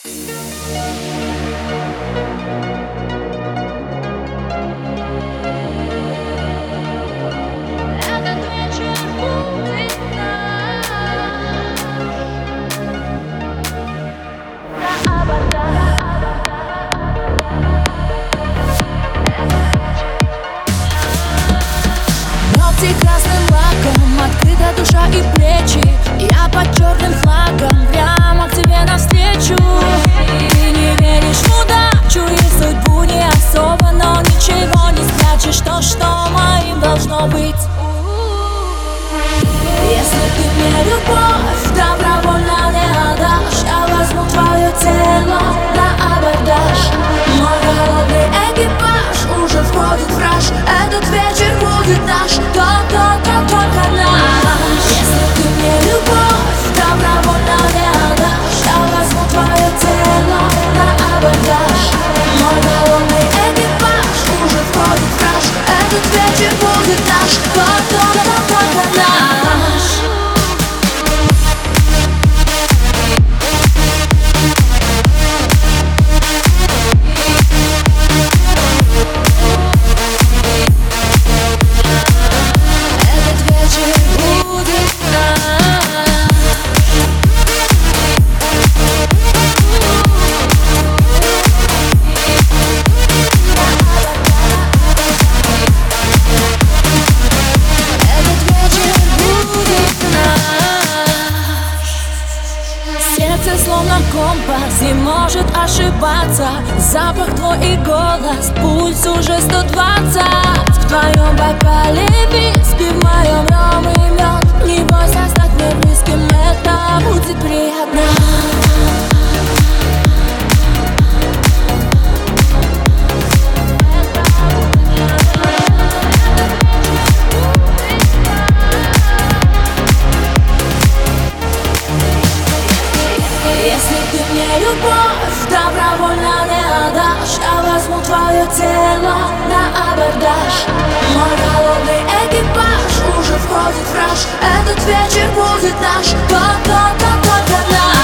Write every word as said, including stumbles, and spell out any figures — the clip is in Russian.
Красным лаком открыта душа и плечи. Я под черным флагом прямо к тебе навстречу. Ты не веришь в удачу и судьбу не особо, но ничего не спрячешь то, что моим должно быть. Если ты мне любовь добровольно не отдашь, я возьму твое тело на абордаж. Мой голодный экипаж уже входит в раж. Этот вечер будет наш, только наш. Если ты мне любовь добровольно не отдашь, я возьму твое тело на абордаж. Мой голодный экипаж уже входит в раж. Этот вечер будет наш, только наш. Словно компас не может ошибаться. Запах твой и голос, пульс уже сто двадцать. В твоем бокале виски, в моем ром и мед. Не бойся стать мне близким, это будет приятно. Если ты мне любовь добровольно не отдашь, я возьму твое тело на абордаж. Мой голодный экипаж уже входит в раж. Этот вечер будет наш, только, только, только наш.